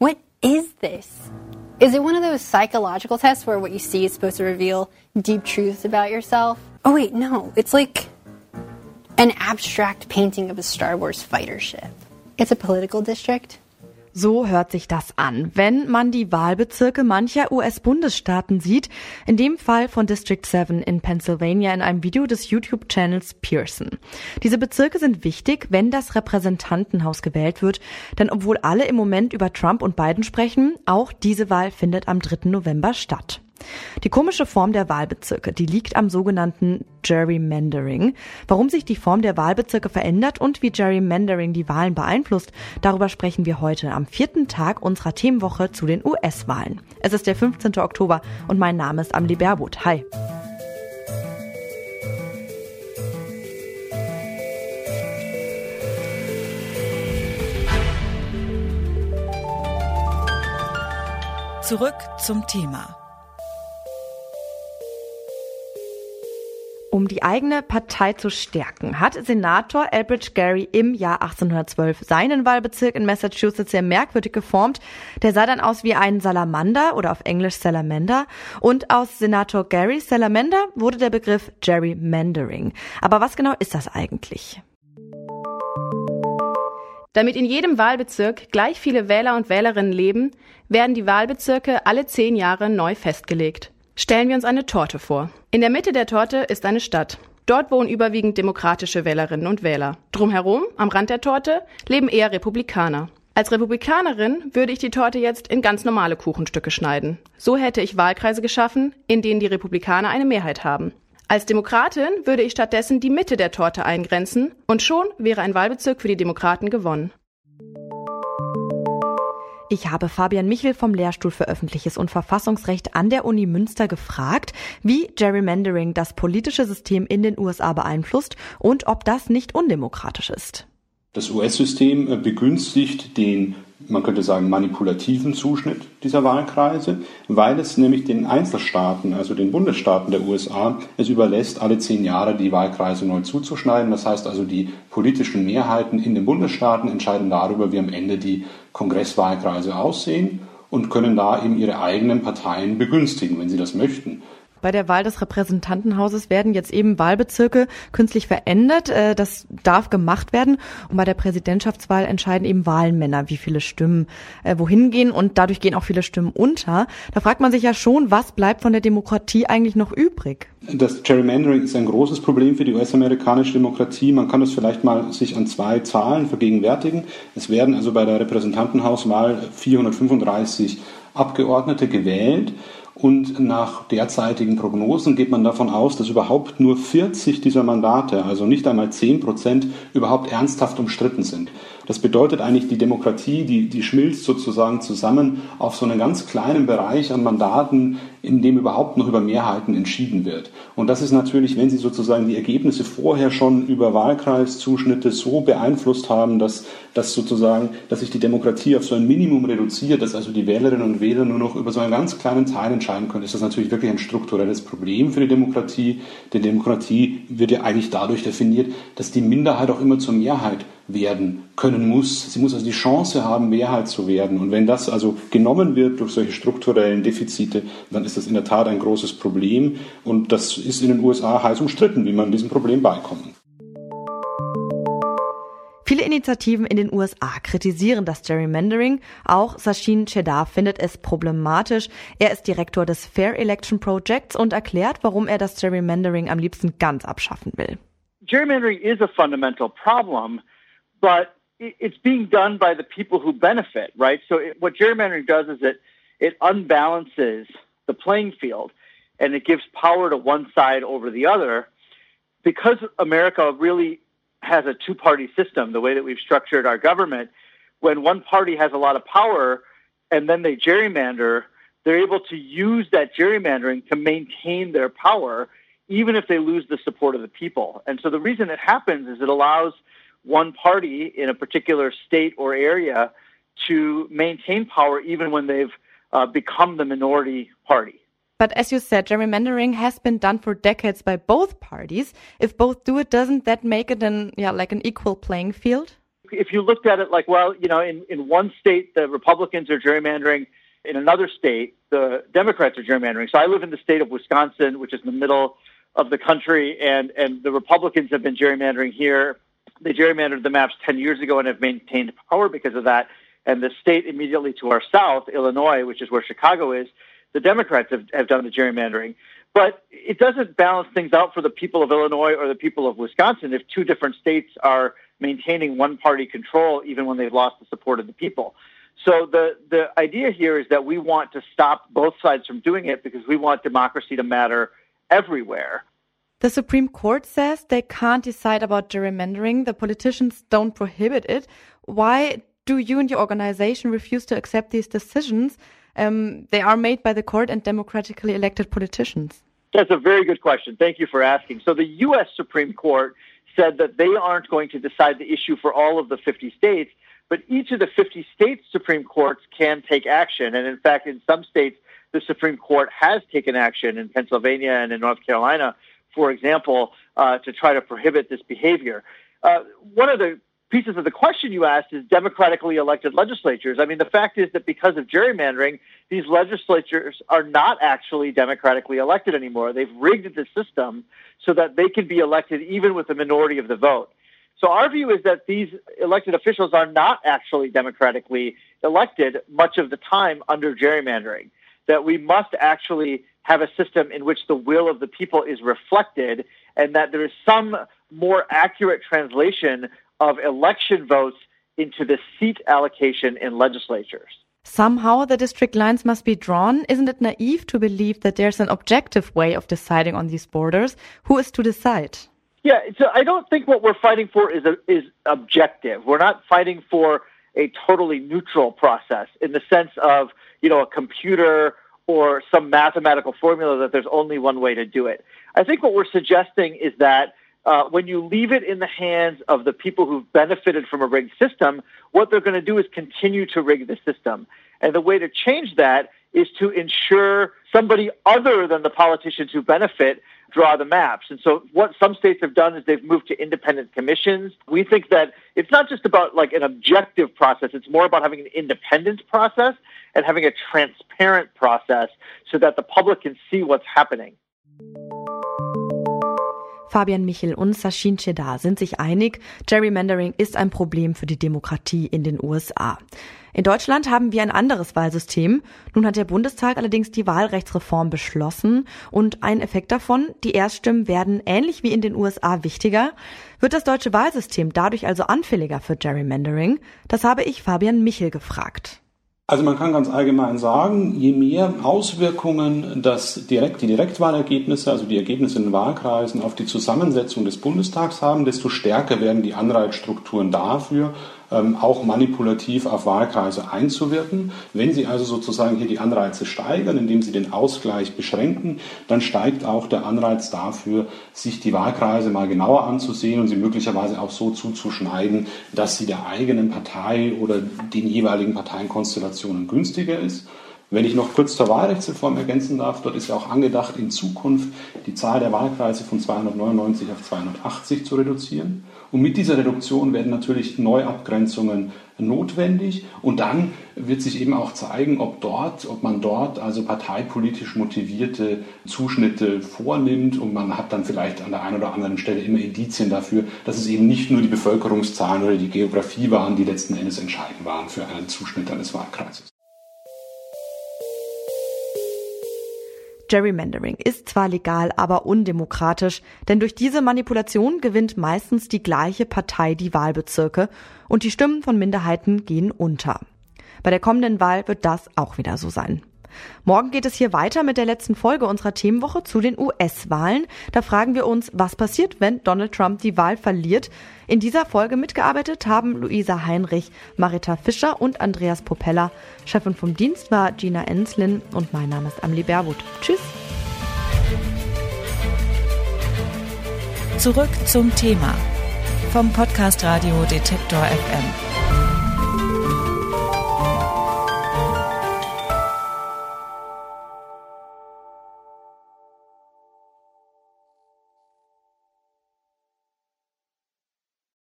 What is this? Is it one of those psychological tests where what you see is supposed to reveal deep truths about yourself? Oh wait, no. It's like an abstract painting of a Star Wars fighter ship. It's a political district. So hört sich das an, wenn man die Wahlbezirke mancher US-Bundesstaaten sieht, in dem Fall von District 7 in Pennsylvania in einem Video des YouTube-Channels Pearson. Diese Bezirke sind wichtig, wenn das Repräsentantenhaus gewählt wird, denn obwohl alle im Moment über Trump und Biden sprechen, auch diese Wahl findet am 3. November statt. Die komische Form der Wahlbezirke, die liegt am sogenannten Gerrymandering. Warum sich die Form der Wahlbezirke verändert und wie Gerrymandering die Wahlen beeinflusst, darüber sprechen wir heute am 4. Tag unserer Themenwoche zu den US-Wahlen. Es ist der 15. Oktober und mein Name ist Amelie Baerbuth. Hi. Zurück zum Thema. Um die eigene Partei zu stärken, hat Senator Elbridge Gerry im Jahr 1812 seinen Wahlbezirk in Massachusetts sehr merkwürdig geformt. Der sah dann aus wie ein Salamander oder auf Englisch Salamander. Und aus Senator Gerrys Salamander wurde der Begriff Gerrymandering. Aber was genau ist das eigentlich? Damit in jedem Wahlbezirk gleich viele Wähler und Wählerinnen leben, werden die Wahlbezirke alle 10 Jahre neu festgelegt. Stellen wir uns eine Torte vor. In der Mitte der Torte ist eine Stadt. Dort wohnen überwiegend demokratische Wählerinnen und Wähler. Drumherum, am Rand der Torte, leben eher Republikaner. Als Republikanerin würde ich die Torte jetzt in ganz normale Kuchenstücke schneiden. So hätte ich Wahlkreise geschaffen, in denen die Republikaner eine Mehrheit haben. Als Demokratin würde ich stattdessen die Mitte der Torte eingrenzen und schon wäre ein Wahlbezirk für die Demokraten gewonnen. Ich habe Fabian Michel vom Lehrstuhl für Öffentliches und Verfassungsrecht an der Uni Münster gefragt, wie Gerrymandering das politische System in den USA beeinflusst und ob das nicht undemokratisch ist. Das US-System begünstigt den, man könnte sagen, manipulativen Zuschnitt dieser Wahlkreise, weil es nämlich den Einzelstaaten, also den Bundesstaaten der USA, es überlässt, alle 10 Jahre die Wahlkreise neu zuzuschneiden. Das heißt also, die politischen Mehrheiten in den Bundesstaaten entscheiden darüber, wie am Ende die Kongresswahlkreise aussehen und können da eben ihre eigenen Parteien begünstigen, wenn sie das möchten. Bei der Wahl des Repräsentantenhauses werden jetzt eben Wahlbezirke künstlich verändert. Das darf gemacht werden. Und bei der Präsidentschaftswahl entscheiden eben Wahlmänner, wie viele Stimmen wohin gehen. Und dadurch gehen auch viele Stimmen unter. Da fragt man sich ja schon, was bleibt von der Demokratie eigentlich noch übrig? Das Gerrymandering ist ein großes Problem für die US-amerikanische Demokratie. Man kann das vielleicht mal sich an 2 Zahlen vergegenwärtigen. Es werden also bei der Repräsentantenhauswahl 435 Abgeordnete gewählt. Und nach derzeitigen Prognosen geht man davon aus, dass überhaupt nur 40 dieser Mandate, also nicht einmal 10%, überhaupt ernsthaft umstritten sind. Das bedeutet eigentlich, die Demokratie, die schmilzt sozusagen zusammen auf so einen ganz kleinen Bereich an Mandaten, in dem überhaupt noch über Mehrheiten entschieden wird. Und das ist natürlich, wenn Sie sozusagen die Ergebnisse vorher schon über Wahlkreiszuschnitte so beeinflusst haben, dass sich die Demokratie auf so ein Minimum reduziert, dass also die Wählerinnen und Wähler nur noch über so einen ganz kleinen Teil entscheiden können, ist das natürlich wirklich ein strukturelles Problem für die Demokratie. Denn Demokratie wird ja eigentlich dadurch definiert, dass die Minderheit auch immer zur Mehrheit werden können muss. Sie muss also die Chance haben, Mehrheit zu werden. Und wenn das also genommen wird durch solche strukturellen Defizite, dann ist das in der Tat ein großes Problem. Und das ist in den USA heiß umstritten, wie man diesem Problem beikommt. Viele Initiativen in den USA kritisieren das Gerrymandering. Auch Sachin Chedar findet es problematisch. Er ist Direktor des Fair Election Projects und erklärt, warum er das Gerrymandering am liebsten ganz abschaffen will. Gerrymandering is a fundamental problem, but it's being done by the people who benefit, right? So what gerrymandering does is it unbalances the playing field and it gives power to one side over the other. Because America really has a two-party system, the way that we've structured our government, when one party has a lot of power and then they gerrymander, they're able to use that gerrymandering to maintain their power, even if they lose the support of the people. And so the reason it happens is it allows one party in a particular state or area to maintain power even when they've become the minority party. But as you said, gerrymandering has been done for decades by both parties. If both do it, doesn't that make it an equal playing field? if you looked at it like, well, in one state, the Republicans are gerrymandering. In another state, the Democrats are gerrymandering. So I live in the state of Wisconsin, which is in the middle of the country, and the Republicans have been gerrymandering here. They gerrymandered the maps 10 years ago and have maintained power because of that. And the state immediately to our south, Illinois, which is where Chicago is, the Democrats have done the gerrymandering. But it doesn't balance things out for the people of Illinois or the people of Wisconsin if two different states are maintaining one-party control even when they've lost the support of the people. So the idea here is that we want to stop both sides from doing it because we want democracy to matter everywhere. The Supreme Court says they can't decide about gerrymandering. The politicians don't prohibit it. Why do you and your organization refuse to accept these decisions? They are made by the court and democratically elected politicians. That's a very good question. Thank you for asking. So the U.S. Supreme Court said that they aren't going to decide the issue for all of the 50 states, but each of the 50 states' Supreme Courts can take action. And in fact, in some states, the Supreme Court has taken action in Pennsylvania and in North Carolina, for example, to try to prohibit this behavior. One of the pieces of the question you asked is democratically elected legislatures. I mean, the fact is that because of gerrymandering, these legislatures are not actually democratically elected anymore. They've rigged the system so that they can be elected even with a minority of the vote. So our view is that these elected officials are not actually democratically elected much of the time under gerrymandering, that we must actually have a system in which the will of the people is reflected and that there is some more accurate translation of election votes into the seat allocation in legislatures. Somehow the district lines must be drawn. Isn't it naive to believe that there's an objective way of deciding on these borders? Who is to decide? Yeah, so I don't think what we're fighting for is objective. We're not fighting for a totally neutral process in the sense of, a computer or some mathematical formula that there's only one way to do it. I think what we're suggesting is that when you leave it in the hands of the people who've benefited from a rigged system, what they're going to do is continue to rig the system. And the way to change that is to ensure somebody other than the politicians who benefit draw the maps. And so what some states have done is they've moved to independent commissions. We think that it's not just about like an objective process. It's more about having an independent process and having a transparent process so that the public can see what's happening. Fabian Michel und Sachin Chedar sind sich einig, Gerrymandering ist ein Problem für die Demokratie in den USA. In Deutschland haben wir ein anderes Wahlsystem. Nun hat der Bundestag allerdings die Wahlrechtsreform beschlossen und ein Effekt davon, die Erststimmen werden ähnlich wie in den USA wichtiger. Wird das deutsche Wahlsystem dadurch also anfälliger für Gerrymandering? Das habe ich Fabian Michel gefragt. Also man kann ganz allgemein sagen, je mehr Auswirkungen die Direktwahlergebnisse, also die Ergebnisse in den Wahlkreisen auf die Zusammensetzung des Bundestags haben, desto stärker werden die Anreizstrukturen dafür, auch manipulativ auf Wahlkreise einzuwirken. Wenn Sie also sozusagen hier die Anreize steigern, indem Sie den Ausgleich beschränken, dann steigt auch der Anreiz dafür, sich die Wahlkreise mal genauer anzusehen und sie möglicherweise auch so zuzuschneiden, dass sie der eigenen Partei oder den jeweiligen Parteienkonstellationen günstiger ist. Wenn ich noch kurz zur Wahlrechtsreform ergänzen darf, dort ist ja auch angedacht, in Zukunft die Zahl der Wahlkreise von 299 auf 280 zu reduzieren. Und mit dieser Reduktion werden natürlich Neuabgrenzungen notwendig. Und dann wird sich eben auch zeigen, ob man dort also parteipolitisch motivierte Zuschnitte vornimmt. Und man hat dann vielleicht an der einen oder anderen Stelle immer Indizien dafür, dass es eben nicht nur die Bevölkerungszahlen oder die Geografie waren, die letzten Endes entscheidend waren für einen Zuschnitt eines Wahlkreises. Gerrymandering ist zwar legal, aber undemokratisch, denn durch diese Manipulation gewinnt meistens die gleiche Partei die Wahlbezirke und die Stimmen von Minderheiten gehen unter. Bei der kommenden Wahl wird das auch wieder so sein. Morgen geht es hier weiter mit der letzten Folge unserer Themenwoche zu den US-Wahlen. Da fragen wir uns, was passiert, wenn Donald Trump die Wahl verliert. In dieser Folge mitgearbeitet haben Luisa Heinrich, Marita Fischer und Andreas Popella. Chefin vom Dienst war Gina Enslin und mein Name ist Amelie Baerbuth. Tschüss. Zurück zum Thema vom Podcast Radio Detektor FM.